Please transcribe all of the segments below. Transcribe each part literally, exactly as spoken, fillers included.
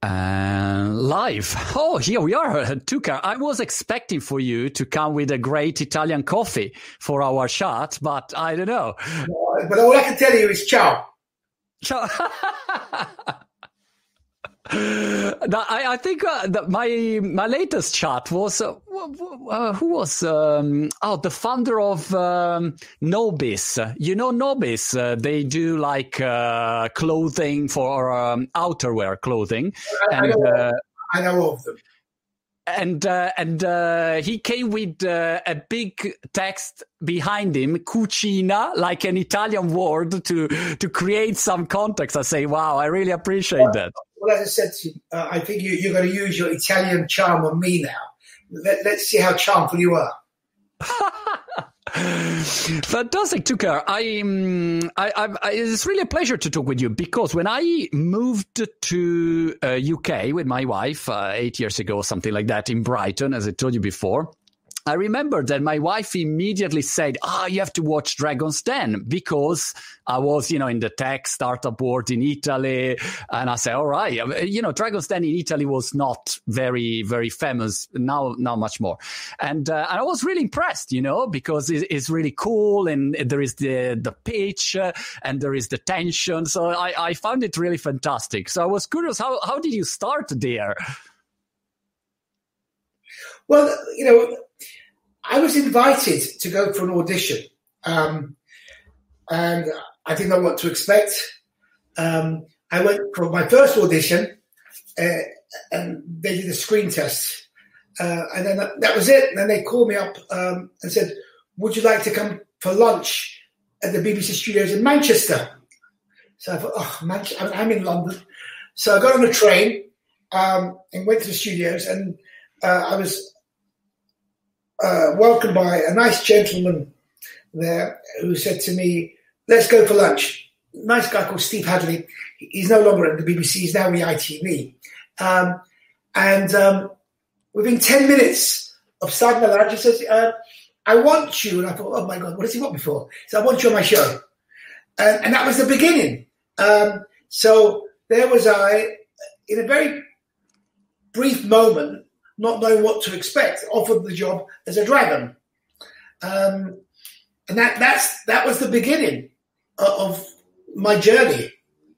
Uh, live. Oh, here we are, Tuca. I was expecting for you to come with a great Italian coffee for our chat, but I don't know. But all I can tell you is ciao. Ciao. No, I, I think uh, that my my latest chat was uh, uh, who was um, oh the founder of um, Nobis. You know Nobis? Uh, they do like uh, clothing for um, outerwear clothing. I, and, I, know, uh, I know of them. And uh, and uh, he came with uh, a big text behind him, cucina, like an Italian word to to create some context. I say, wow, I really appreciate well, that. Well, as I said to you, uh, I think you, you're going to use your Italian charm on me now. Let, let's see how charmful you are. Fantastic, Tuca. I, um, I, I, I, it's really a pleasure to talk with you because when I moved to uh, U K with my wife uh, eight years ago, something like that, in Brighton, as I told you before, I remember that my wife immediately said, ah, oh, you have to watch Dragon's Den because I was, you know, in the tech startup world in Italy. And I said, all right, you know, Dragon's Den in Italy was not very, very famous. Now, now much more. And, uh, and I was really impressed, you know, because it, it's really cool. And there is the, the pitch uh, and there is the tension. So I, I found it really fantastic. So I was curious, how, how did you start there? Well, you know, I was invited to go for an audition, um, and I didn't know what to expect. Um, I went for my first audition, uh, and they did a screen test, uh, and then that was it. And then they called me up um, and said, "Would you like to come for lunch at the B B C studios in Manchester?" So I thought, "Oh, Manchester! I'm in London." So I got on the train um, and went to the studios, and uh, I was. Uh, welcomed by a nice gentleman there who said to me, let's go for lunch. Nice guy called Steve Hadley. He's no longer at the B B C. He's now with I T V. Um, and um, within ten minutes of starting the lunch, he says, uh, I want you. And I thought, oh, my God, what does he want me for? He said, I want you on my show. And, and that was the beginning. Um, so there was I, in a very brief moment, not knowing what to expect, offered the job as a dragon. Um, and that that's that was the beginning of, of my journey.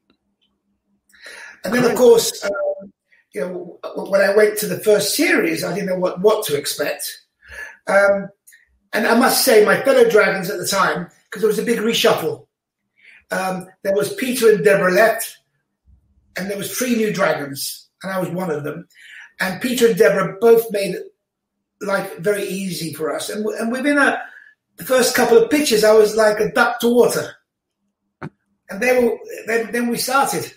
And then, of course, um, you know, when I went to the first series, I didn't know what, what to expect. Um, and I must say, my fellow dragons at the time, because there was a big reshuffle, um, there was Peter and Deborah left, and there was three new dragons, and I was one of them. And Peter and Deborah both made life very easy for us. And, and within a, the first couple of pitches, I was like a duck to water. And then, then, then we started.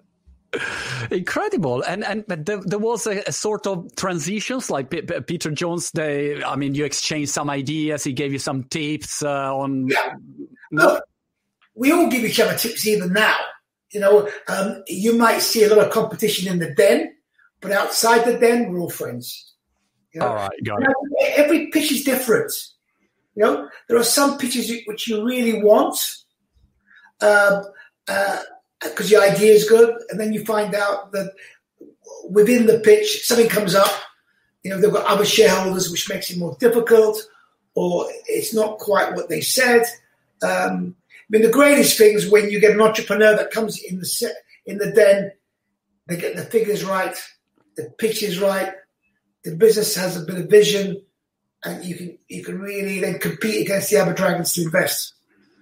Incredible. And and but there, there was a, a sort of transitions like P- P- Peter Jones. They, I mean, you exchanged some ideas. He gave you some tips uh, on. Yeah. No? Look, we all give each other tips even now. You know, um, you might see a lot of competition in the den. But outside the den, we're all friends. You know? All right, got it. Every pitch is different. You know, there are some pitches which you really want because um, uh, your idea is good, and then you find out that within the pitch something comes up. You know, they've got other shareholders, which makes it more difficult, or it's not quite what they said. Um, I mean, the greatest thing is when you get an entrepreneur that comes in the set, in the den, they get the figures right. The pitch is right. The business has a bit of vision, and you can you can really then compete against the other dragons to invest.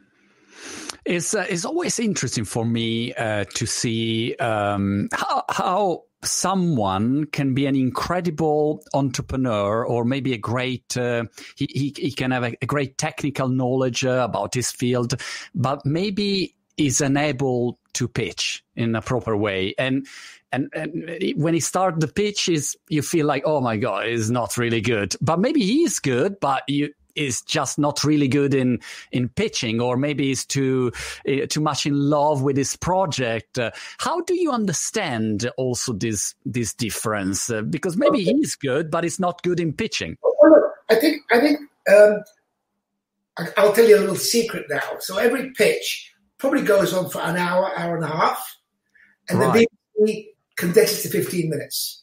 It's uh, it's always interesting for me uh, to see um, how how someone can be an incredible entrepreneur, or maybe a great uh, he, he he can have a, a great technical knowledge uh, about his field, but maybe is unable to pitch in a proper way. And And, and when he starts the pitch, is you feel like, oh my God, he's not really good. But maybe he is good, but you is just not really good in in pitching, or maybe he's too uh, too much in love with his project. Uh, how do you understand also this this difference? Uh, because maybe okay. he's good, but he's not good in pitching. Well, look, I think I think um, I'll tell you a little secret now. So every pitch probably goes on for an hour, hour and a half, and right. the B B C condense it to fifteen minutes.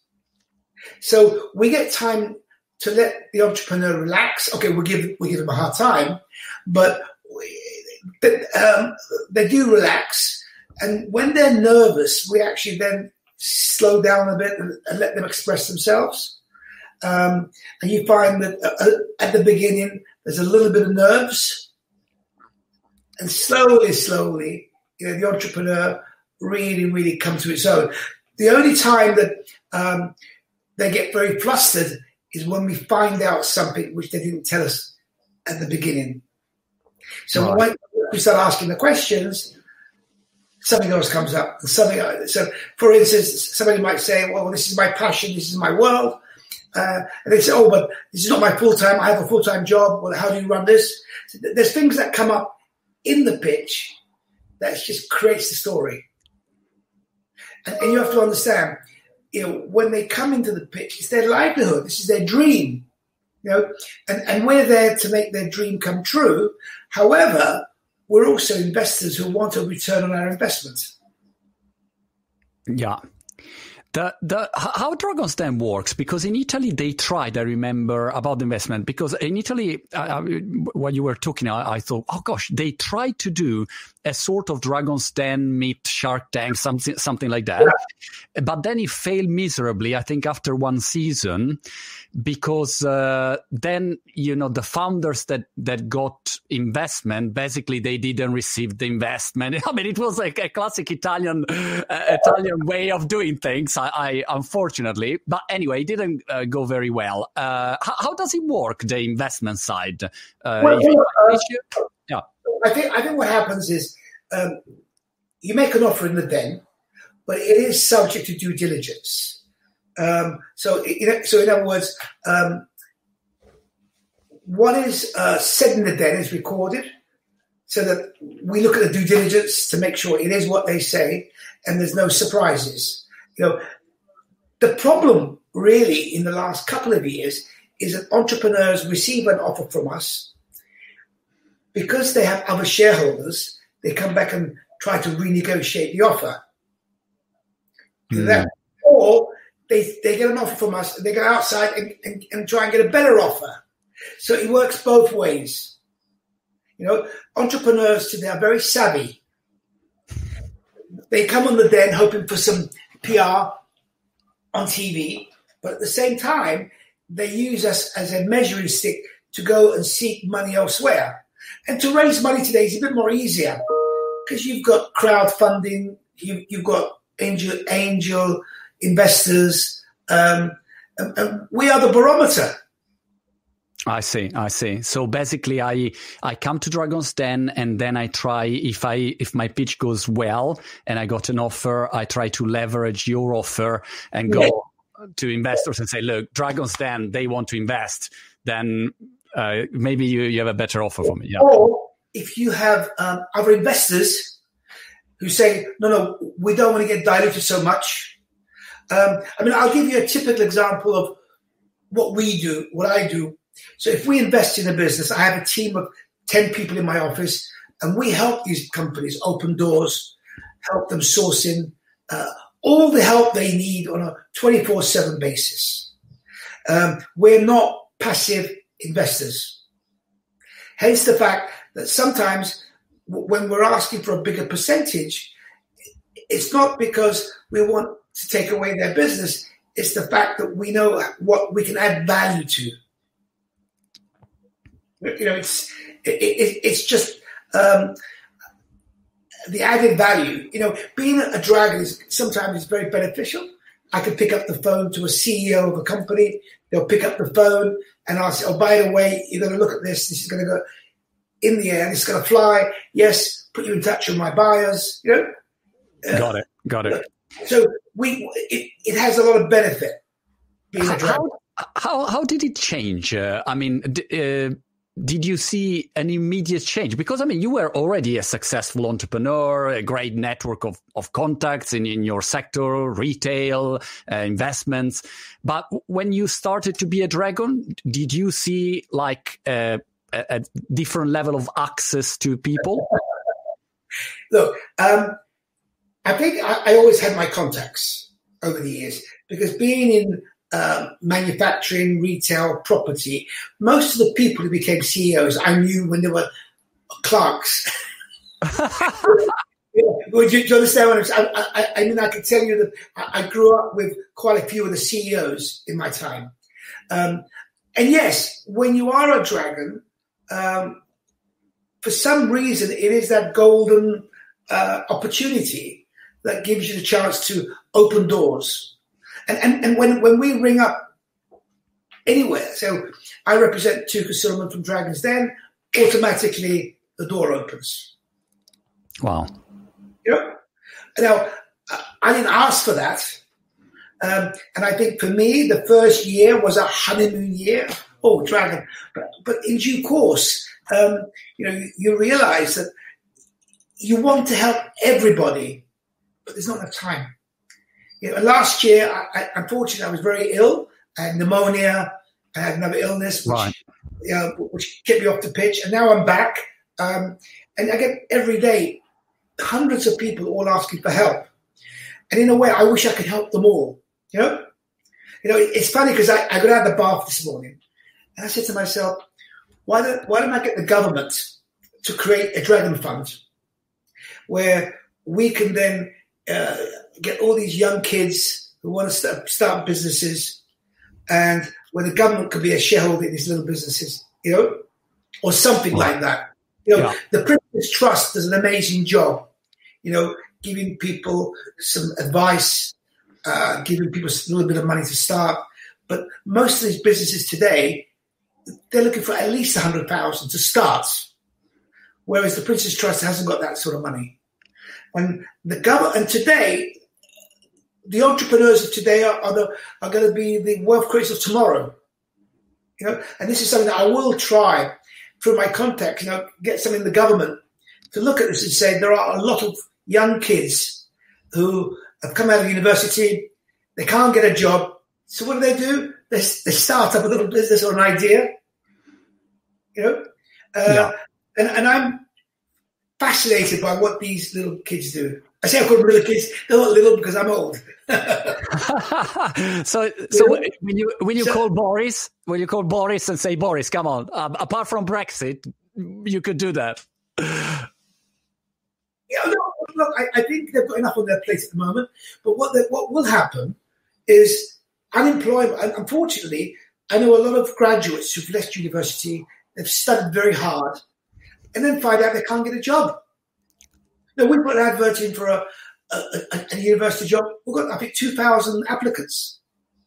So we get time to let the entrepreneur relax. Okay, we'll give, we'll give them a hard time, but we, um, they do relax. And when they're nervous, we actually then slow down a bit and, and let them express themselves. Um, and you find that uh, at the beginning, there's a little bit of nerves. And slowly, slowly, you know, the entrepreneur really, really comes to its own. The only time that um, they get very flustered is when we find out something which they didn't tell us at the beginning. So right. when we start asking the questions, something else comes up. And something else. So, for instance, somebody might say, well, this is my passion, this is my world. Uh, and they say, oh, but this is not my full-time, I have a full-time job. Well, how do you run this? So there's things that come up in the pitch that just creates the story. And, and you have to understand, you know, when they come into the pitch, it's their livelihood. This is their dream, you know, and, and we're there to make their dream come true. However, we're also investors who want a return on our investment. Yeah. The, the, how Dragon's Den works, because in Italy they tried, I remember, about the investment, because in Italy, uh, when you were talking, I, I thought, oh gosh, they tried to do a sort of Dragon's Den meet Shark Tank, something, something like that. Yeah. But then it failed miserably, I think, after one season, because uh, then, you know, the founders that, that got investment, basically they didn't receive the investment. I mean, it was like a classic Italian uh, Italian way of doing things, I, I unfortunately. But anyway, it didn't uh, go very well. Uh, how, how does it work, the investment side? Uh, well, you, uh, yeah. I think I think what happens is um, you make an offer in the den, but it is subject to due diligence. Um, so, in, so in other words, um, what is uh, said in the den is recorded, so that we look at the due diligence to make sure it is what they say, and there's no surprises. You know, the problem really in the last couple of years is that entrepreneurs receive an offer from us. Because they have other shareholders, they come back and try to renegotiate the offer. Mm. That, or they, they get an offer from us, and they go outside and, and, and try and get a better offer. So it works both ways. You know, entrepreneurs today are very savvy. They come on the den hoping for some P R on T V, but at the same time, they use us as a measuring stick to go and seek money elsewhere. And to raise money today is a bit more easier because you've got crowdfunding, you, you've got angel angel investors, um, and, and we are the barometer. I see, I see. So basically, I I come to Dragon's Den and then I try, if I if my pitch goes well and I got an offer, I try to leverage your offer and go yeah. to investors and say, look, Dragon's Den, they want to invest. Then uh, maybe you, you have a better offer for me. Yeah. Or if you have um, other investors who say, no, no, we don't want to get diluted so much. Um, I mean, I'll give you a typical example of what we do, what I do. So if we invest in a business, I have a team of ten people in my office, and we help these companies open doors, help them source in uh, all the help they need on a twenty-four seven basis. Um, we're not passive investors. Hence the fact that sometimes w- when we're asking for a bigger percentage, it's not because we want to take away their business. It's the fact that we know what we can add value to. You know, it's it, it, it's just um, the added value. You know, being a dragon is sometimes is very beneficial. I can pick up the phone to a C E O of a company. They'll pick up the phone and I'll say, oh, by the way, you're going to look at this. This is going to go in the air. This is going to fly. Yes, put you in touch with my buyers. You know, uh, got it, got it. So we it, it has a lot of benefit being a dragon. How how, how did it change? Uh, I mean. D- uh, Did you see an immediate change? Because, I mean, you were already a successful entrepreneur, a great network of, of contacts in, in your sector, retail, uh, investments. But when you started to be a dragon, did you see like a, a, a different level of access to people? Look, um, I think I, I always had my contacts. over the years, because being in uh, manufacturing, retail, property, most of the people who became C E Os I knew when they were clerks. Yeah. Would you, do you understand what I'm saying? I, I, I mean, I can tell you that I, I grew up with quite a few of the C E Os in my time. Um, and yes, when you are a dragon, um, for some reason, it is that golden uh, opportunity that gives you the chance to open doors. And, and, and when, when we ring up anywhere, so I represent Tuka Silverman from Dragons Den, automatically the door opens. Wow. You know? Now, I didn't ask for that. Um, and I think for me, the first year was a honeymoon year. Oh, dragon. But, but in due course, um, you know, you, you realize that you want to help everybody, but there's not enough time. You know, last year, I, I, unfortunately, I was very ill. I had pneumonia. I had another illness, which, right. you know, which kept me off the pitch. And now I'm back. Um, and I get every day hundreds of people all asking for help. And in a way, I wish I could help them all. You know, you know, it's funny because I, I got out of the bath this morning and I said to myself, why don't, why don't I get the government to create a dragon fund where we can then uh, get all these young kids who want to start, start businesses, and where the government could be a shareholder in these little businesses, you know, or something yeah. like that. You know, yeah. The Prince's Trust does an amazing job, you know, giving people some advice, uh, giving people a little bit of money to start. But most of these businesses today, they're looking for at least one hundred thousand to start, whereas the Prince's Trust hasn't got that sort of money. And the government, and today, the entrepreneurs of today are, are, the, are going to be the wealth creators of tomorrow. You know, and this is something that I will try through my contacts, you know, get some in the government to look at this and say there are a lot of young kids who have come out of university, they can't get a job. So what do they do? They, they start up a little business or an idea, you know? Uh, yeah. and, and I'm fascinated by what these little kids do. I say I call them little kids. They're not little because I'm old. so, so when you when you so, call Boris, when you call Boris and say, Boris, come on. Um, apart from Brexit, you could do that. Yeah, no, look, I, I think they've got enough on their plate at the moment. But what they, what will happen is unemployment. And unfortunately, I know a lot of graduates who've left university. They've studied very hard, and then find out they can't get a job. Now, we put an advert in for a, a, a, a university job. We've got, I think, two thousand applicants.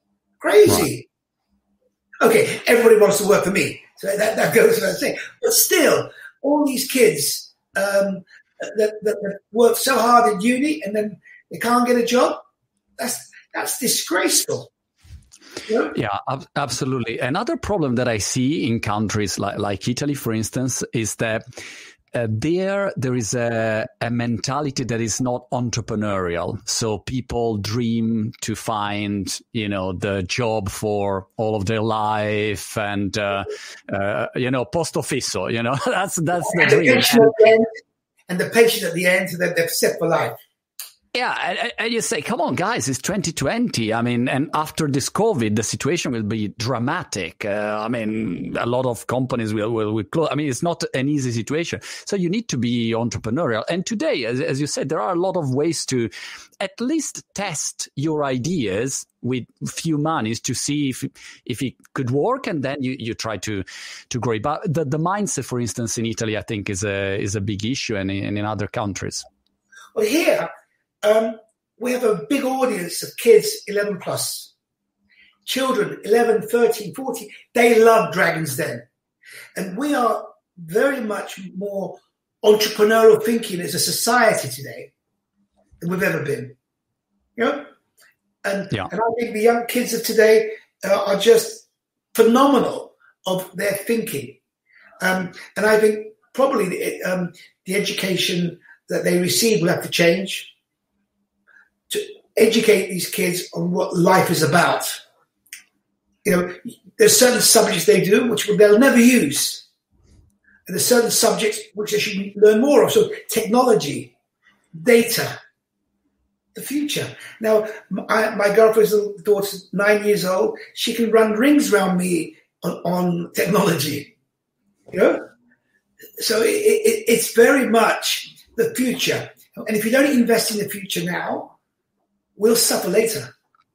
Crazy. Right. Okay, everybody wants to work for me. So that, that goes without saying. But still, all these kids um, that, that, that work so hard in uni and then they can't get a job, that's that's disgraceful. Yeah, yeah ab- absolutely. Another problem that I see in countries like, like Italy, for instance, is that Uh, there, there is a, a mentality that is not entrepreneurial. So people dream to find, you know, the job for all of their life, and uh, uh, you know, posto fisso. You know, that's that's the and dream. The and, the end, and the patient at the end that they've set for life. Yeah, and, and you say, come on, guys, it's twenty twenty. I mean, and after this COVID, the situation will be dramatic. Uh, I mean, a lot of companies will, will, will close. I mean, it's not an easy situation. So you need to be entrepreneurial. And today, as, as you said, there are a lot of ways to at least test your ideas with few monies to see if if it could work, and then you, you try to to grow. But the, the mindset, for instance, in Italy, I think is a is a big issue, and in, and in other countries. Well, here. Um, we have a big audience of kids eleven plus. Children eleven, thirteen, fourteen. They love Dragons Den. And we are very much more entrepreneurial thinking as a society today than we've ever been. You know? And, yeah. and I think the young kids of today uh, are just phenomenal of their thinking. Um, and I think probably the, um, the education that they receive will have to change to educate these kids on what life is about. You know, there's certain subjects they do which they'll never use. And there's certain subjects which they should learn more of. So technology, data, the future. Now, my, my girlfriend's little daughter's nine years old. She can run rings around me on, on technology. You know? So it, it, it's very much the future. And if you don't invest in the future now, we'll suffer later.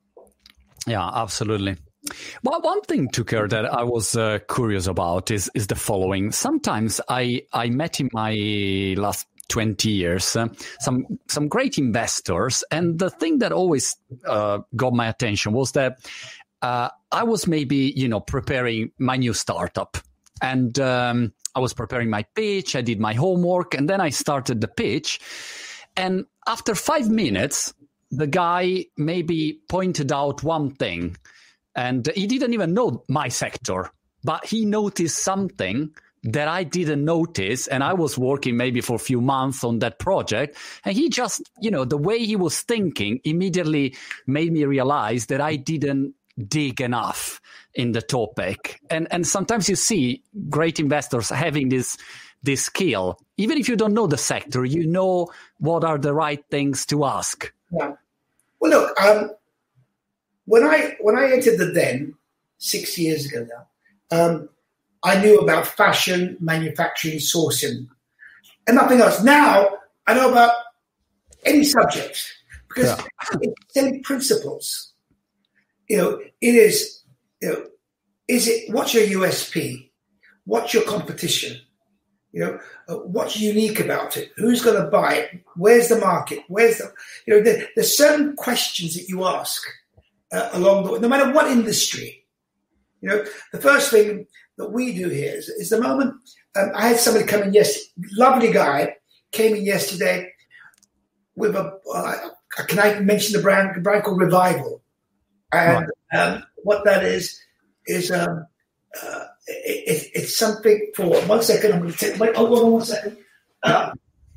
Yeah, absolutely. Well, one thing, Tucker, that I was uh, curious about is is the following. Sometimes I, I met in my last twenty years uh, some some great investors, and the thing that always uh, got my attention was that uh, I was maybe, you know, preparing my new startup, and um, I was preparing my pitch. I did my homework, and then I started the pitch. And after five minutes, the guy maybe pointed out one thing. And he didn't even know my sector, but he noticed something that I didn't notice. And I was working maybe for a few months on that project. And he just, you know, the way he was thinking immediately made me realize that I didn't dig enough in the topic. And and sometimes you see great investors having this this skill. Even if you don't know the sector, you know what are the right things to ask. Yeah. Well, look, um, When I when I entered the Den six years ago now, um, I knew about fashion, manufacturing, sourcing, and nothing else. Now I know about any subject because yeah. It's the same principles. You know, it is. You know, is it what's your U S P? What's your competition? You know, uh, what's unique about it? Who's going to buy it? Where's the market? Where's the? You know, there, there's certain questions that you ask. Uh, along the way, no matter what industry, you know, the first thing that we do here is, is the moment um, I had somebody come in yesterday, lovely guy, came in yesterday with a, uh, can I mention the brand, the brand called Revival? And right. um, what that is, is um, uh, it, it, it's something for, one second, I'm going to take, wait, hold on one second. Uh,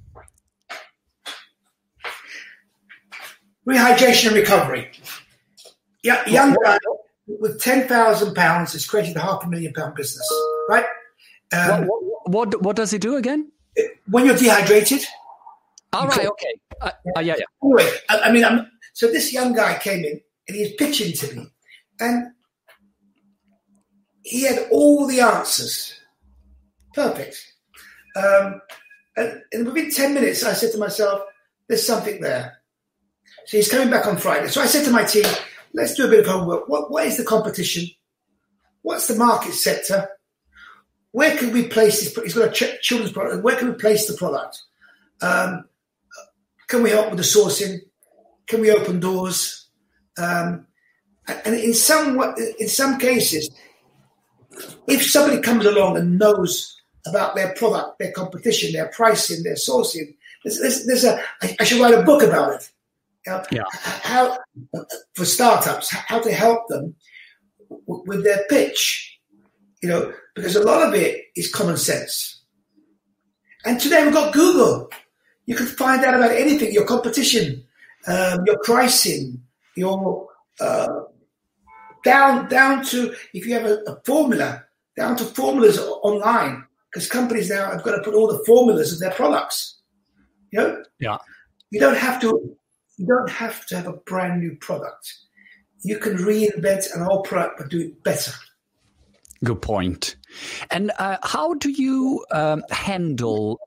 rehydration and recovery. Yeah, young guy with ten thousand pounds has created a half a million pound business, right? Um, what, what, what what does he do again? When you're dehydrated. All you right, call, okay. Uh, uh, yeah, yeah. Anyway, I, I mean, I'm, so this young guy came in and he was pitching to me, and he had all the answers. Perfect. Um, and, and within ten minutes, I said to myself, there's something there. So he's coming back on Friday. So I said to my team, let's do a bit of homework. What, what is the competition? What's the market sector? Where can we place this? He's got a ch- children's product. Where can we place the product? Um, can we help with the sourcing? Can we open doors? Um, and in some in some cases, if somebody comes along and knows about their product, their competition, their pricing, their sourcing, there's, there's, there's a. I, I should write a book about it. Uh, yeah. How for startups, how to help them w- with their pitch, you know, because a lot of it is common sense. And today we've got Google. You can find out about anything, your competition, um, your pricing, your uh, down down to if you have a, a formula, down to formulas online, because companies now have got to put all the formulas of their products. You know, yeah, you don't have to. You don't have to have a brand new product. You can reinvent an old product but do it better. Good point. And uh, how do you um, handle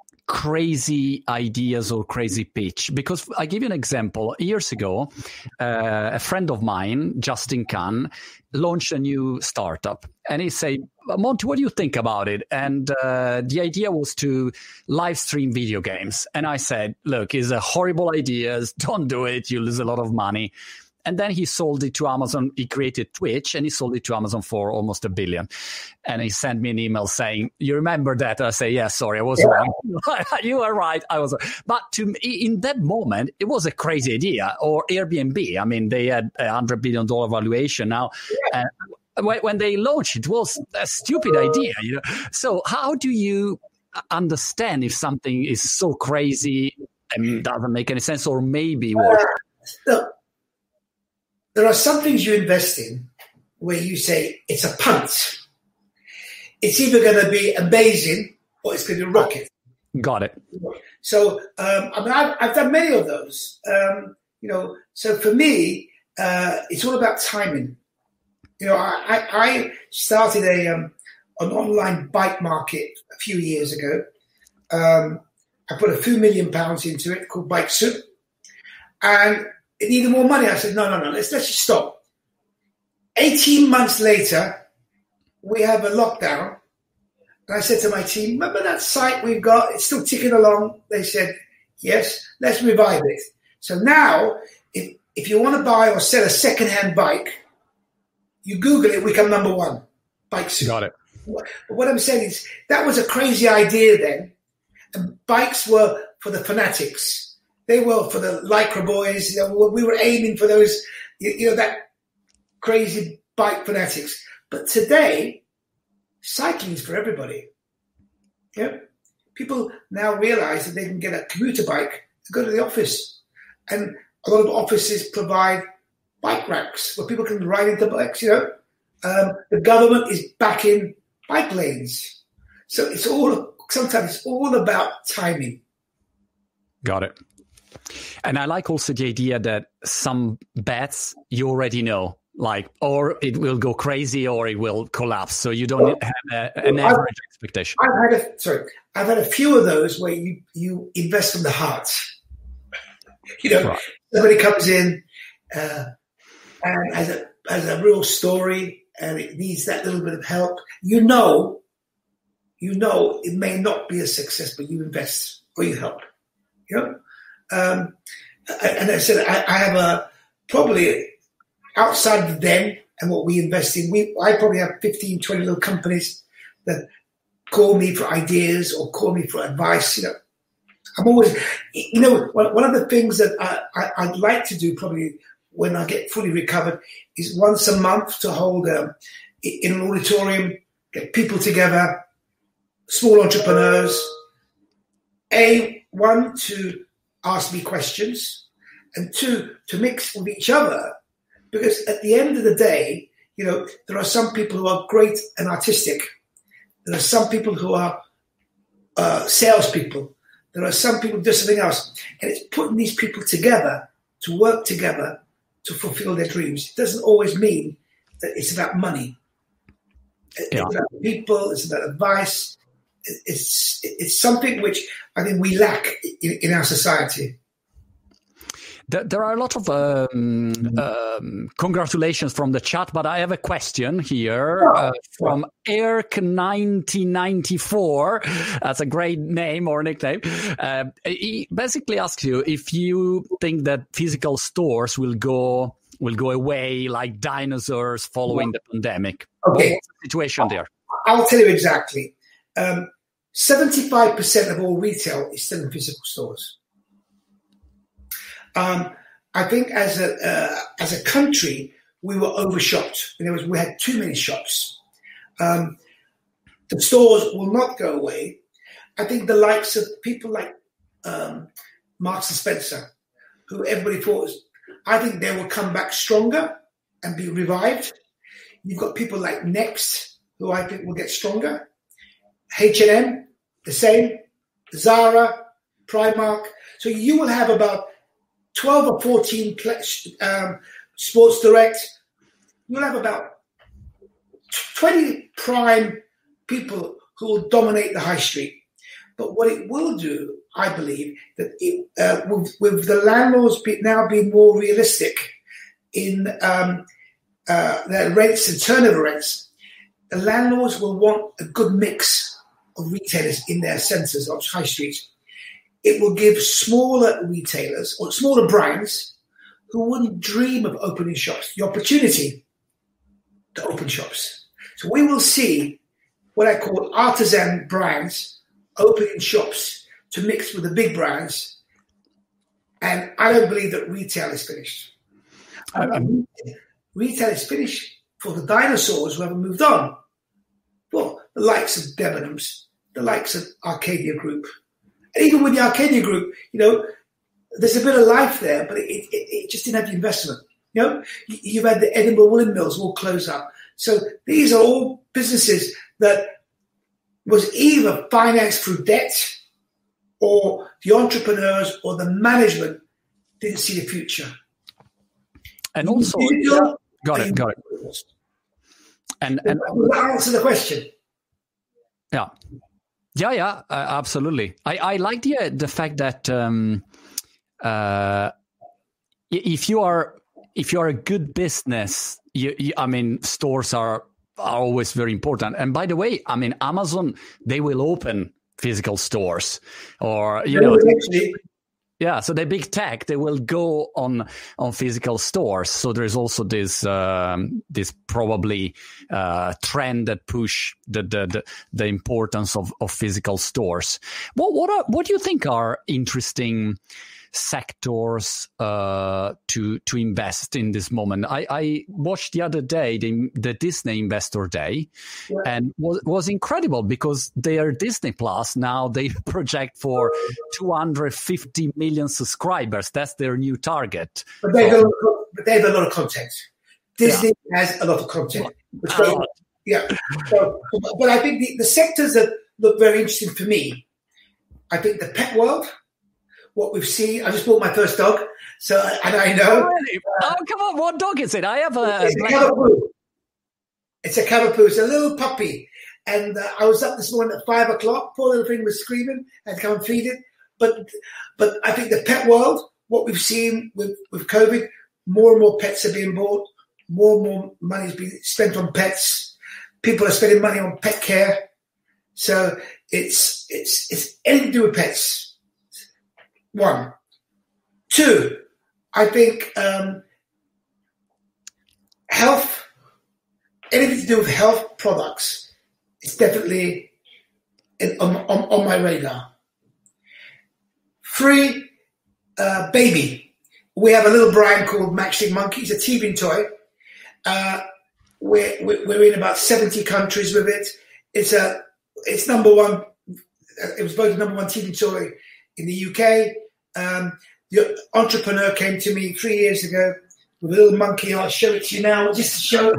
crazy ideas or crazy pitch? Because I give you an example. Years ago, uh, a friend of mine, Justin Kahn, launched a new startup. And he said, Monty, what do you think about it? And uh, the idea was to live stream video games. And I said, look, it's a horrible idea. Don't do it. You lose a lot of money. And then he sold it to Amazon. He created Twitch and he sold it to Amazon for almost a billion. And he sent me an email saying, you remember that? And I say, yeah, sorry, I was yeah. wrong. You are right. I was wrong. But to me, in that moment, it was a crazy idea. Or Airbnb. I mean, they had a one hundred billion dollars valuation now. Yeah. Uh, when they launched, it was a stupid idea. You know. So how do you understand if something is so crazy and doesn't make any sense or maybe work? Uh, There are some things you invest in where you say it's a punt. It's either going to be amazing or it's going to rocket. Got it. So, um, I mean, I've, I've done many of those. Um, You know, so for me, uh, it's all about timing. You know, I, I started a um, an online bike market a few years ago. Um, I put a few million pounds into it called Bike Soup, and it needed more money. I said, no, no, no, let's let's just stop. eighteen months later, we have a lockdown. And I said to my team, remember that site we've got? It's still ticking along. They said, yes, let's revive it. So now, if, if you want to buy or sell a second-hand bike, you Google it, we come number one. Bike Soup. Got it. But what I'm saying is that was a crazy idea then. And bikes were for the fanatics. They were for the Lycra boys. You know, we were aiming for those, you, you know, that crazy bike fanatics. But today, cycling is for everybody. Yeah, people now realize that they can get a commuter bike to go to the office. And a lot of offices provide bike racks where people can ride into bikes, you know. Um, the government is backing bike lanes. So it's all, sometimes it's all about timing. Got it. And I like also the idea that some bets you already know, like, or it will go crazy or it will collapse. So you don't well, have a, an well, average I've, expectation. I've had a, sorry, I've had a few of those where you, you invest from the heart. You know, right. Somebody comes in uh, and has a, has a real story and it needs that little bit of help. You know, you know, it may not be a success, but you invest or you help. You know, um, and I said I, I have a probably outside of them and what we invest in. We I probably have fifteen, twenty little companies that call me for ideas or call me for advice. You know, I'm always, you know, one, one of the things that I, I, I'd like to do probably when I get fully recovered is once a month to hold um, in an auditorium, get people together, small entrepreneurs, A, one, to ask me questions, and two, to mix with each other. Because at the end of the day, you know, there are some people who are great and artistic. There are some people who are uh, salespeople. There are some people who do something else. And it's putting these people together to work together to fulfill their dreams. It doesn't always mean that it's about money. Yeah. It's about people. It's about advice. It's it's something which I think we lack in, in our society. There, there are a lot of um, um, congratulations from the chat, but I have a question here uh, from Erk nineteen ninety-four. That's a great name or nickname. Uh, he basically asks you if you think that physical stores will go will go away like dinosaurs following the pandemic. Okay, what's the situation there? I'll tell you exactly. Um, seventy-five percent of all retail is still in physical stores. Um, I think as a uh, as a country, we were overshopped. In other words, we had too many shops. Um, the stores will not go away. I think the likes of people like um, Marks and Spencer, who everybody thought was, I think they will come back stronger and be revived. You've got people like Next, who I think will get stronger. H and M, the same. Zara, Primark. So you will have about twelve or fourteen um, Sports Direct. You'll have about twenty prime people who will dominate the high street. But what it will do, I believe, that it, uh, with, with the landlords be, now being more realistic in um, uh, their rents and turnover rents, the landlords will want a good mix of retailers in their centres on high streets. It will give smaller retailers or smaller brands who wouldn't dream of opening shops the opportunity to open shops. So we will see what I call artisan brands opening shops to mix with the big brands. And I don't believe that retail is finished. Um, retail is finished for the dinosaurs who haven't moved on. Well, the likes of Debenhams, the likes of Arcadia Group. And even with the Arcadia Group, you know, there's a bit of life there, but it, it, it just didn't have the investment. You know, you've had the Edinburgh Woolen Mills all close up. So these are all businesses that was either financed through debt or the entrepreneurs or the management didn't see the future. And also, yeah, got it, got it. And and will that answer the question? Yeah, yeah, yeah, uh, absolutely. I, I like the uh, the fact that um, uh, if you are if you are a good business, you, you, I mean, stores are are always very important. And by the way, I mean, Amazon, they will open physical stores, or you know. Actually, yeah, so the big tech, they will go on on physical stores. So there's also this um, this probably uh, trend that push the the the, the importance of, of physical stores. What what are, what do you think are interesting sectors uh, to to invest in this moment? I, I watched the other day the, the Disney Investor Day, yeah. and was was incredible because their Disney Plus now they project for two hundred fifty million subscribers. That's their new target. But they have, so, but they have a lot of content. Disney yeah. has a lot of content. Which goes, yeah. So, but I think the, the sectors that look very interesting for me, I think the pet world. What we've seen, I just bought my first dog, so and I know. Oh, really? uh, oh come on! What dog is it? I have a. It's a Cavapoo. It's a Cavapoo. It's a little puppy, and uh, I was up this morning at five o'clock. Poor little thing was screaming. I had to come and feed it. But, but I think the pet world, what we've seen with with COVID, more and more pets are being bought. More and more money is being spent on pets. People are spending money on pet care. So it's it's it's anything to do with pets. One. Two, I think um, health, anything to do with health products is definitely in, on, on, on my radar. Three, uh, baby. We have a little brand called Matchstick Monkey. It's a teething toy. Uh, we're, we're in about seventy countries with it. It's a, it's number one. It was voted number one teething toy in the U K. Um, the entrepreneur came to me three years ago with a little monkey. I'll show it to you now, just to show.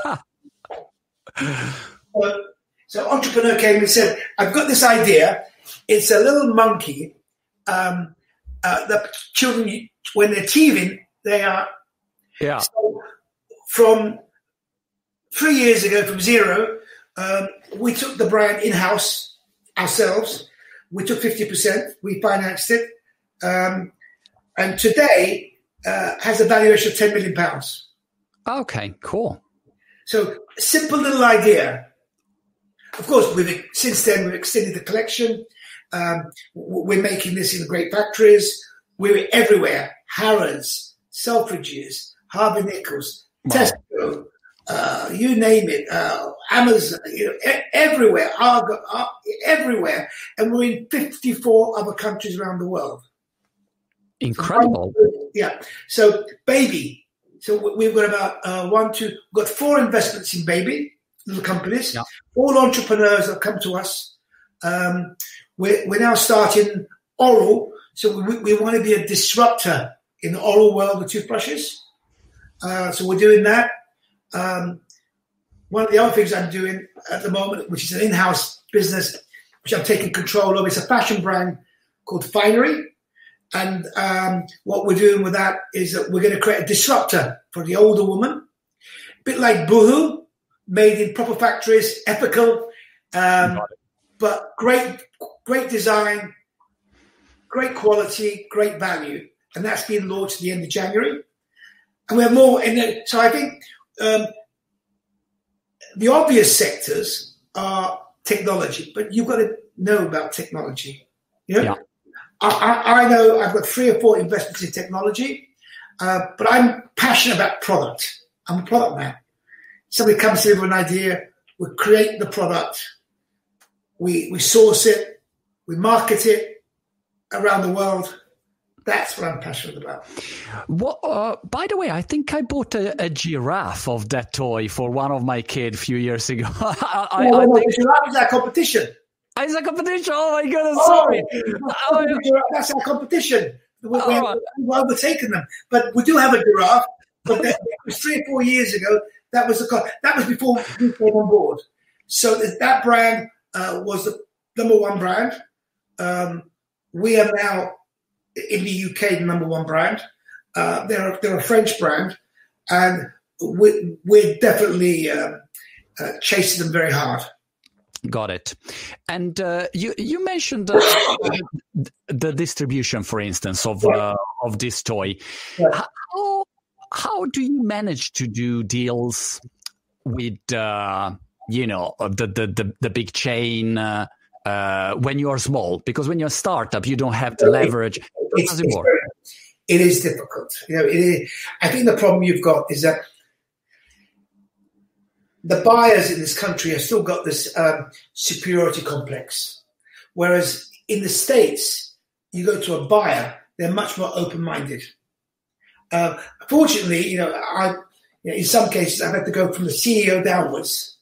uh, so, entrepreneur came and said, "I've got this idea. It's a little monkey um, uh, that children, when they're teething, they are." Yeah. So from three years ago, from zero, um, we took the brand in house ourselves. We took fifty percent. We financed it. Um, and today uh, has a valuation of ten million pounds. Okay, cool. So simple little idea. Of course, we've since then we've extended the collection. Um, we're making this in great factories. We're everywhere. Harrods, Selfridges, Harvey Nichols, wow. Tesco, uh, you name it, uh, Amazon, you know, e- everywhere, Argo, uh, everywhere. And we're in fifty-four other countries around the world. Incredible. So, yeah. So baby. So we've got about uh, one, two, we've got four investments in baby, little companies. Yeah. All entrepreneurs that come to us. Um, we're, we're now starting oral. So we, we want to be a disruptor in the oral world of toothbrushes. Uh, so we're doing that. Um, one of the other things I'm doing at the moment, which is an in-house business, which I'm taking control of, is a fashion brand called Finery. And um, what we're doing with that is that we're going to create a disruptor for the older woman, a bit like Boohoo, made in proper factories, ethical, um, but great, great design, great quality, great value. And that's being launched at the end of January. And we have more in there. So I think um, the obvious sectors are technology, but you've got to know about technology. You know? Yeah. I, I know I've got three or four investments in technology, uh, but I'm passionate about product. I'm a product man. Somebody comes to me with an idea, we create the product, we we source it, we market it around the world. That's what I'm passionate about. Well, uh, by the way, I think I bought a, a giraffe of that toy for one of my kids a few years ago. I, I, no, no, I no, think the giraffe is our competition. It's a competition. Oh my goodness! Oh, sorry, that's our competition. We, we, right. We've overtaken them, but we do have a giraffe. But that was three or four years ago. That was the that was before we came on board. So that brand uh, was the number one brand. Um, we have now in the U K the number one brand. Uh, they're they're a French brand, and we're, we're definitely uh, uh, chasing them very hard. Got it. And uh, you you mentioned uh, the distribution, for instance, of uh, of this toy. Yeah. How how do you manage to do deals with uh, you know the the the, the big chain uh, uh, when you are small? Because when you're a startup, you don't have the leverage. How does it work? Very, it is difficult. You know, it is, I think the problem you've got is that the buyers in this country have still got this um, superiority complex, whereas in the States, you go to a buyer, they're much more open-minded. Uh, fortunately, you know, I, you know, in some cases, I've had to go from the C E O downwards,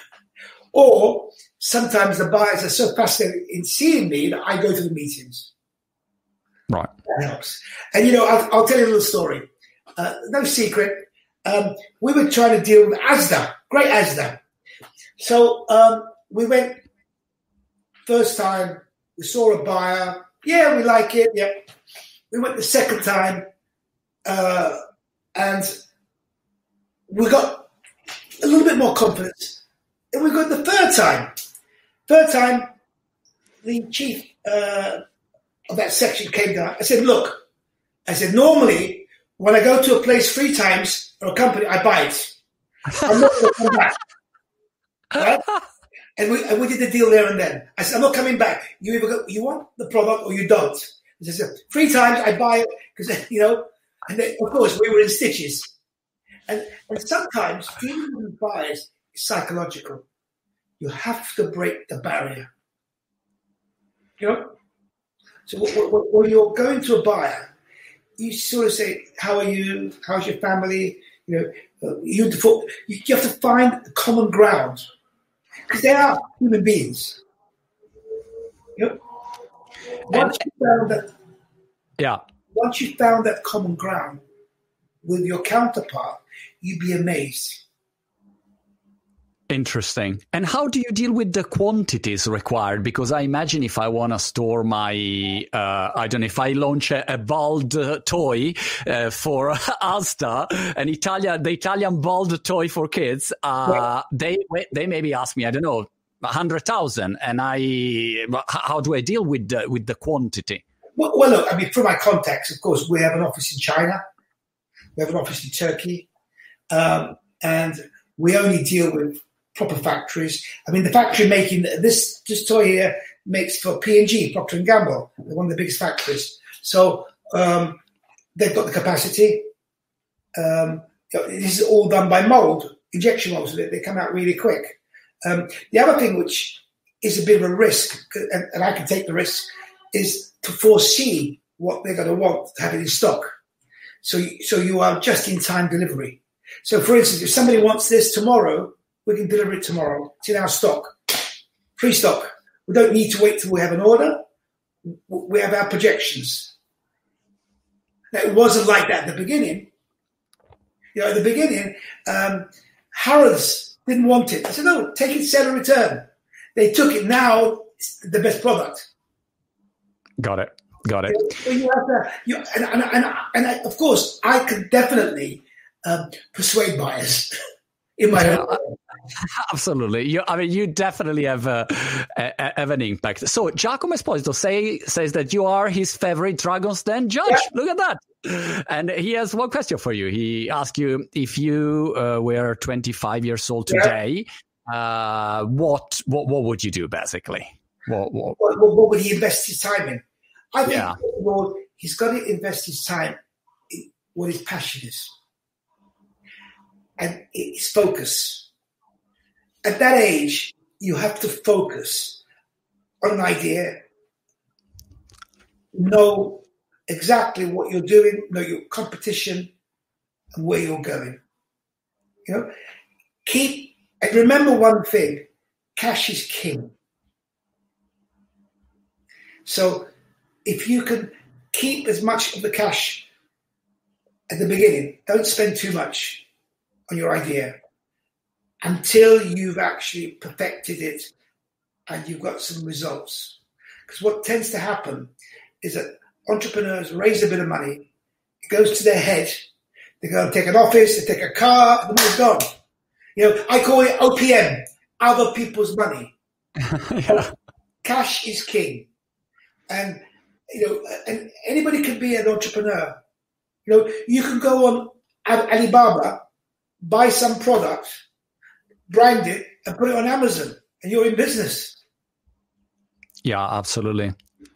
or sometimes the buyers are so fascinated in seeing me that I go to the meetings. Right, that helps. And you know, I'll, I'll tell you a little story. Uh, no secret. Um, we were trying to deal with Asda, great Asda. So um, we went first time, we saw a buyer. Yeah, we like it. Yeah. We went the second time, uh, and we got a little bit more confidence. And we got the third time. Third time, the chief uh, of that section came down. I said, look, I said, normally when I go to a place three times or a company, I buy it. I'm not going to come back. Right? And we and we did the deal there and then. I said, I'm not coming back. You either go, you want the product or you don't. I said, three times I buy it because, you know, and then, of course, we were in stitches. And, and sometimes dealing with buyers is psychological. You have to break the barrier. You know? So when you're going to a buyer, you sort of say, how are you? How's your family? You know, you have to find a common ground because they are human beings. You know? Once and, you found that, yeah. Once you found that common ground with your counterpart, you'd be amazed. Interesting. And how do you deal with the quantities required? Because I imagine if I want to store my, uh, I don't know, if I launch a, a Bald uh, toy uh, for Asda, an Italian, the Italian Bald toy for kids, uh, yeah. they they maybe ask me, I don't know, a hundred thousand, and I, how do I deal with the, with the quantity? Well, well, look, I mean, from my contacts, of course, we have an office in China, we have an office in Turkey, um, and we only deal with proper factories. I mean, the factory making this this toy here makes for P and G, Procter and Gamble, one of the biggest factories. So um, they've got the capacity. Um, this is all done by mold, injection molds, so they, they come out really quick. Um, the other thing, which is a bit of a risk, and, and I can take the risk, is to foresee what they're going to want to have it in stock. So, so you are just-in-time delivery. So, for instance, if somebody wants this tomorrow, we can deliver it tomorrow. It's in our stock, free stock. We don't need to wait till we have an order. We have our projections. Now, it wasn't like that at the beginning. You know, at the beginning, um, Harrods didn't want it. I said, no, take it, sell and return. They took it. Now it's the best product. Got it. Got it. So you have to, you, and, and, and, and I, of course, I could definitely um, persuade buyers in my own way. Absolutely. You, I mean, you definitely have, a, a, have an impact. So Giacomo Esposito say, says that you are his favorite Dragon's Den judge. Yeah. Look at that. And he has one question for you. He asked you, if you uh, were twenty-five years old today, yeah. uh, what, what what would you do, basically? What, what, what, what would he invest his time in? I think yeah. well, he's got to invest his time in what his passion is. And it's focus. At that age, you have to focus on an idea, know exactly what you're doing, know your competition and where you're going. You know, keep and remember one thing: cash is king. So, if you can keep as much of the cash at the beginning, don't spend too much on your idea until you've actually perfected it and you've got some results. Because what tends to happen is that entrepreneurs raise a bit of money, it goes to their head, they go and take an office, they take a car, and the money's gone. You know, I call it O P M, other people's money. Yeah. Cash is king. And, you know, and anybody can be an entrepreneur. You know, you can go on Alibaba, buy some product, brand it, and put it on Amazon, and you're in business. Yeah, absolutely.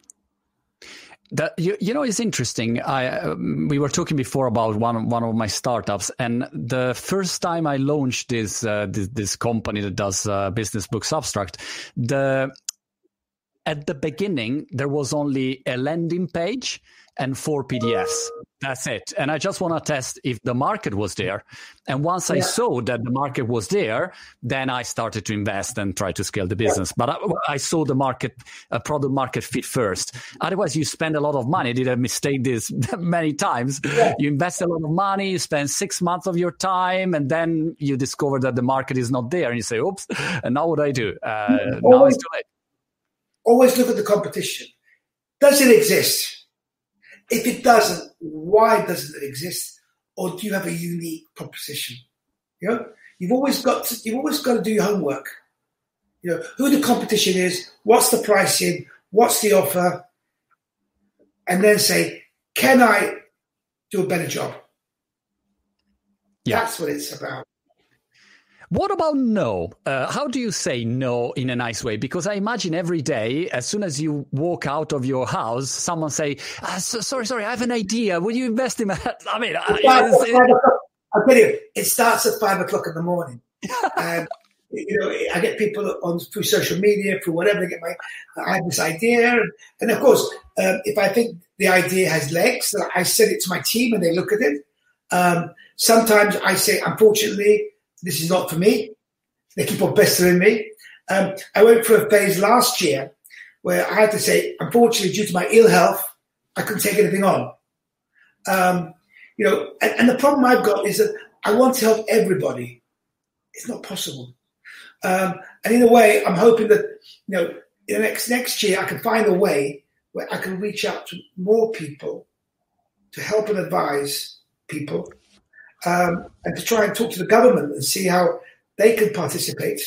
That you, you know, it's interesting. I um, we were talking before about one one of my startups, and the first time I launched this uh, this, this company that does uh, business book Substract, the at the beginning there was only a landing page and four P D Fs. That's it. And I just want to test if the market was there. And once I yeah. saw that the market was there, then I started to invest and try to scale the business. Yeah. But I, I saw the market, uh, product market fit first. Otherwise, you spend a lot of money. I did a mistake this many times. Yeah. You invest a lot of money, you spend six months of your time, and then you discover that the market is not there. And you say, oops, and now what do I do? Uh, always, now it's too late. Always look at the competition. Does it exist? If it doesn't, why doesn't it exist? Or do you have a unique proposition? You know, you've always got to, you've always got to do your homework. You know, who the competition is, what's the pricing, what's the offer, and then say, can I do a better job? Yeah. That's what it's about. What about no? Uh, how do you say no in a nice way? Because I imagine every day, as soon as you walk out of your house, someone say, ah, so, sorry, sorry, I have an idea. Will you invest in that? I mean, I, I'll tell you, it starts at five o'clock in the morning. And, you know, I get people on through social media, through whatever, they get my, I have this idea. And, and of course, um, if I think the idea has legs, I send it to my team and they look at it. Um, sometimes I say, unfortunately, this is not for me. They keep on pestering me. Um, I went through a phase last year where I had to say, unfortunately, due to my ill health, I couldn't take anything on. Um, you know, and, and the problem I've got is that I want to help everybody. It's not possible. Um, and in a way, I'm hoping that, you know, in the next next year, I can find a way where I can reach out to more people to help and advise people. Um, and to try and talk to the government and see how they can participate.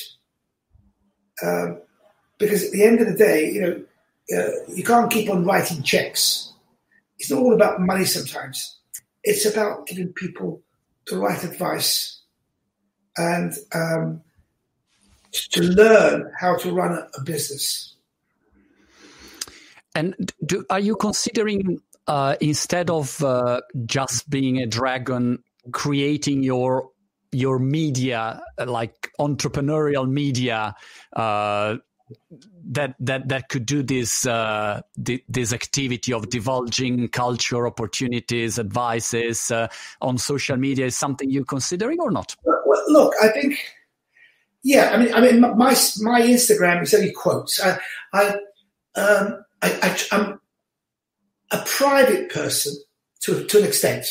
Um, because at the end of the day, you know, uh, you can't keep on writing checks. It's not all about money sometimes. It's about giving people the right advice and um, to learn how to run a, a business. And do, are you considering, uh, instead of uh, just being a dragon, creating your your media, like entrepreneurial media, uh, that that that could do this uh, this activity of divulging culture, opportunities, advices uh, on social media, is something you're considering or not? Well, look, I think, yeah. I mean, I mean, my my Instagram is only quotes. I, I, um, I, I I'm a private person to to an extent.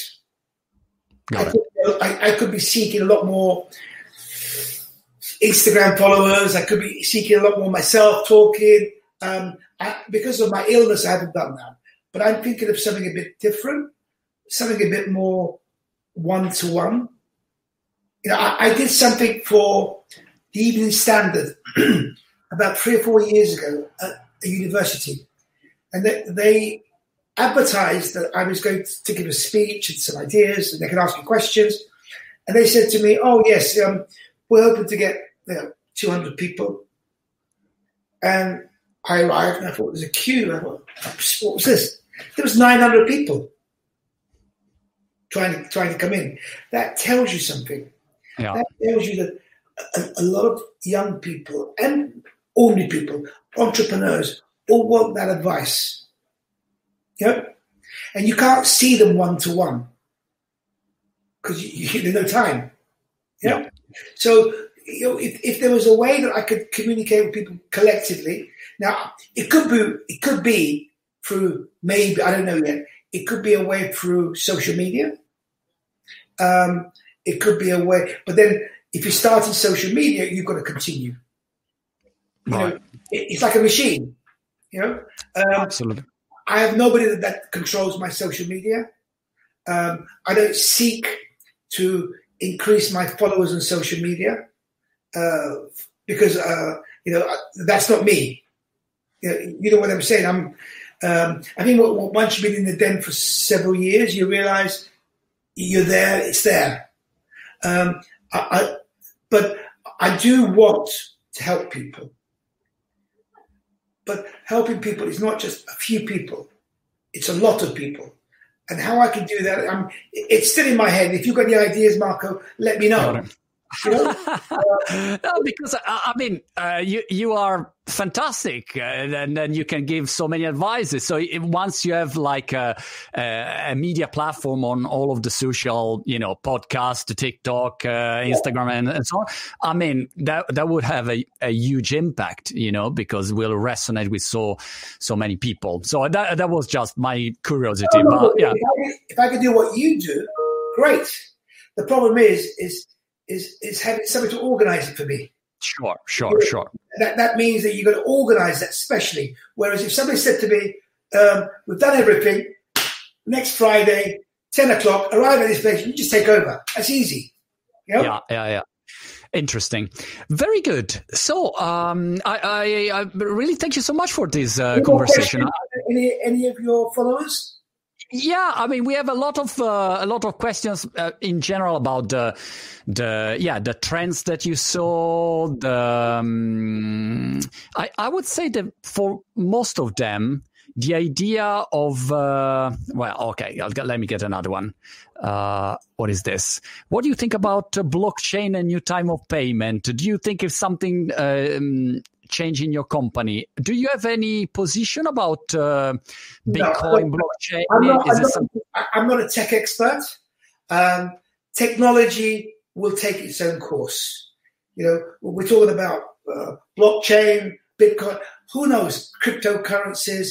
I could, I, I could be seeking a lot more Instagram followers. I could be seeking a lot more myself talking. Um, I, because of my illness, I haven't done that. But I'm thinking of something a bit different, something a bit more one-to-one. You know, I, I did something for the Evening Standard about three or four years ago at a university. And they... they advertised that I was going to give a speech and some ideas, and they could ask me questions. And they said to me, "Oh yes, um, we're hoping to get you know, two hundred people." And I arrived, and I thought there's a queue. I thought, what was this? There was nine hundred people trying to trying to come in. That tells you something. Yeah. That tells you that a, a lot of young people and ordinary people, entrepreneurs, all want that advice. Yep. And you can't see them one-to-one because you, you, there's no time. Yep. Yeah. So, you know, if, if there was a way that I could communicate with people collectively, now it could be it could be through maybe, I don't know yet, it could be a way through social media. Um, it could be a way, but then if you start in social media, you've got to continue. You right. know, it, it's like a machine, you know? Um, Absolutely. I have nobody that, that controls my social media. Um, I don't seek to increase my followers on social media uh, because uh, you know that's not me. You know, you know what I'm saying. I'm. Um, I think once you've been in the den for several years, you realise you're there. It's there. Um, I, I, but I do want to help people. But helping people is not just a few people; it's a lot of people. And how I can do that, I'm, it's still in my head. If you've got any ideas, Marco, let me know. You know? uh, no, because I mean, uh, you you are fantastic, uh, and then you can give so many advices. So if, once you have like a, a, a media platform on all of the social, you know, podcast, TikTok, uh, Instagram, and, and so on, I mean, that that would have a, a huge impact, you know, because we'll resonate with so so many people. So that that was just my curiosity. No, no, but yeah, if I, if I could do what you do, great. The problem is is. Is, is having somebody to organise it for me. Sure, sure, sure. That that means that you've got to organise that specially. Whereas if somebody said to me, um, we've done everything, next Friday, ten o'clock, arrive at this place, you just take over. That's easy. You know? Yeah, yeah, yeah. Interesting. Very good. So um, I, I, I really thank you so much for this uh, conversation. Any, any of your followers? Yeah, I mean, we have a lot of uh, a lot of questions uh, in general about the the yeah the trends that you saw. The um, I I would say that for most of them, the idea of uh, well, okay, I'll get, let me get another one. Uh, what is this? What do you think about uh, blockchain and new time of payment? Do you think it's something um, change in your company? Do you have any position about uh, Bitcoin, no, blockchain? I'm not, Is I'm, not, something- I'm not a tech expert. Um, technology will take its own course. You know, we're talking about uh, blockchain, Bitcoin, who knows, cryptocurrencies.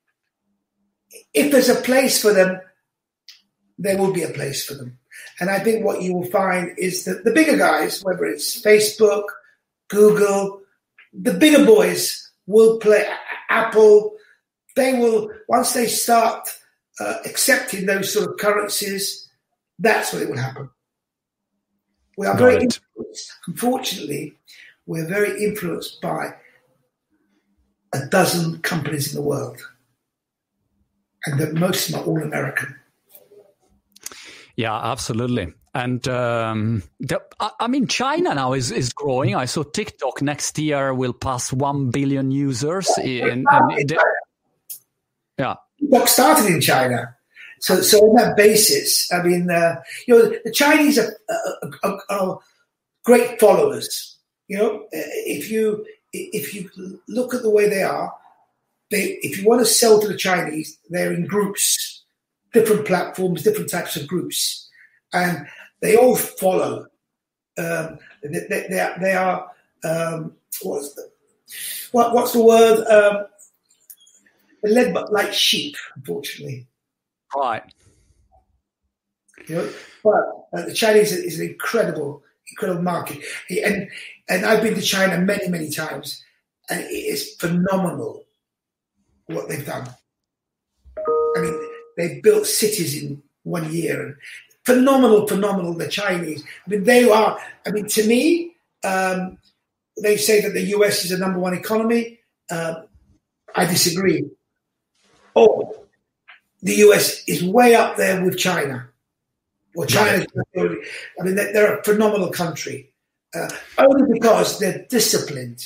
If there's a place for them, there will be a place for them. And I think what you will find is that the bigger guys, whether it's Facebook, Google, the bigger boys will play. Apple, they will, once they start uh, accepting those sort of currencies, that's when it will happen. We are very influenced. Unfortunately, we're very influenced by a dozen companies in the world. And that most of them are all American. Yeah, absolutely. And um, the, I, I mean, China now is, is growing. I saw TikTok next year will pass one billion users. In, in, in, yeah. TikTok started in China. So, so on that basis, I mean, uh, you know, the Chinese are, are, are, are great followers. You know, if you if you look at the way they are, they if you want to sell to the Chinese, they're in groups, different platforms, different types of groups, and they all follow. Um, they, they, they are, they are um, what's the what, what's the word? Um, they're led by, like sheep, unfortunately. Right. You know, but uh, the Chinese is an incredible, incredible market, and and I've been to China many, many times, and it is phenomenal what they've done. I mean, they've built cities in one year, and phenomenal, phenomenal. The Chinese. I mean, they are. I mean, to me, um, they say that the U S is the number one economy. Uh, I disagree. Oh. The U S is way up there with China. Well, China, I mean, they're a phenomenal country. Uh, only because they're disciplined.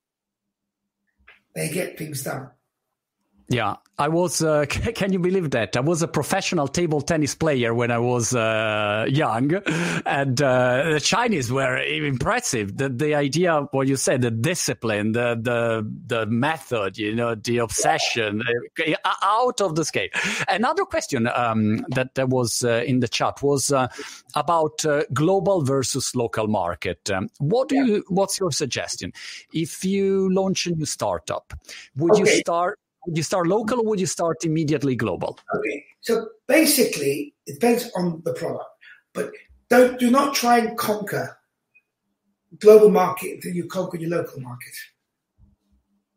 They get things done. Yeah, I was, uh, can you believe that? I was a professional table tennis player when I was uh, young, and uh, the Chinese were impressive. The, the idea, what you said, the discipline, the, the, the method, you know, the obsession, uh, out of the scale. Another question um, that, that was uh, in the chat was uh, about uh, global versus local market. Um, what do you, what's your suggestion? If you launch a new startup, would okay. you start Would you start local or would you start immediately global? Okay, so basically it depends on the product, but don't do not try and conquer global market until you conquer your local market.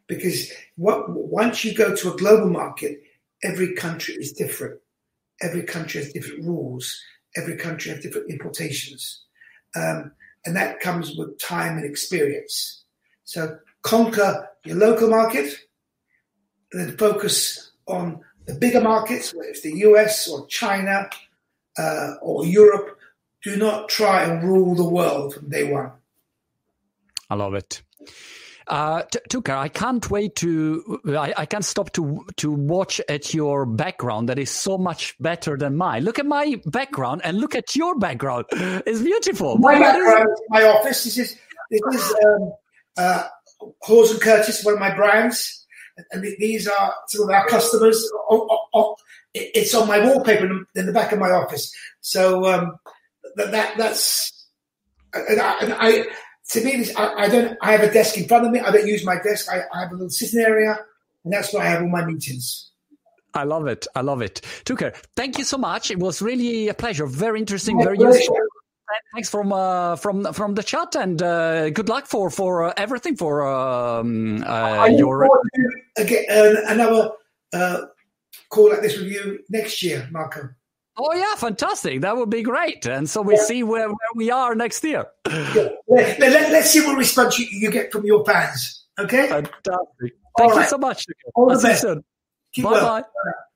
because what, once you go to a global market, every country is different. Every country has different rules. Every country has different importations. Um, and that comes with time and experience. So conquer your local market, and then focus on the bigger markets, whether it's the U S or China uh, or Europe. Do not try and rule the world from day one. I love it. Uh, Tucker, I can't wait to, I, I can't stop to to watch at your background that is so much better than mine. Look at my background and look at your background. It's beautiful. My what background is my office. This is, this is um, uh, Hawes and Curtis, one of my brands. And these are some of our customers. Oh, oh, oh. It's on my wallpaper in the back of my office. So um, that, that that's, and I, and I to me, this, I, I don't. I have a desk in front of me. I don't use my desk. I, I have a little sitting area, and that's where I have all my meetings. I love it. I love it. Tucker, thank you so much. It was really a pleasure. Very interesting. My very pleasure. useful. Thanks from uh, from from the chat, and uh, good luck for for uh, everything for um, uh, your. Again, uh, another uh, call like this with you next year, Marco. Oh yeah, fantastic! That would be great, and so we yeah. see where, where we are next year. Yeah. Let, let, let's see what response you, you get from your fans. Okay. Fantastic! Thank All you right. so much. All I'll the best. Bye well. bye.